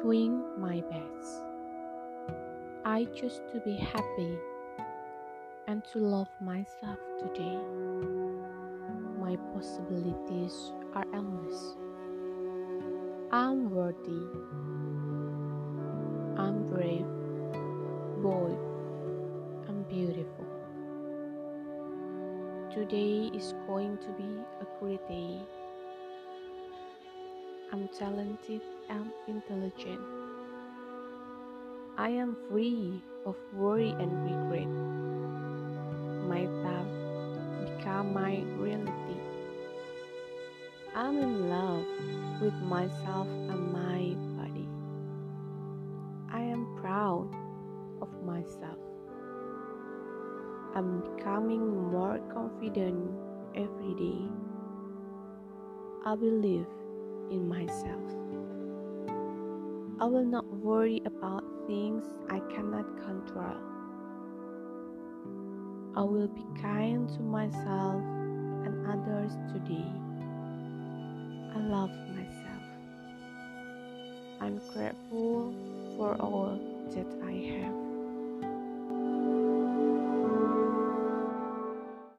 doing my best. I choose to be happy and to love myself today. My possibilities are endless. I'm worthy. I'm brave, bold, and beautiful. Today is going to be a great day. I'm talented and intelligent. I am free of worry and regret. My thoughts become my reality. I'm in love with myself and my body. I am proud of myself. I'm becoming more confident every day. I believe in myself. I will not worry about things I cannot control. I will be kind to myself and others today. I love myself. I'm grateful for all that I have.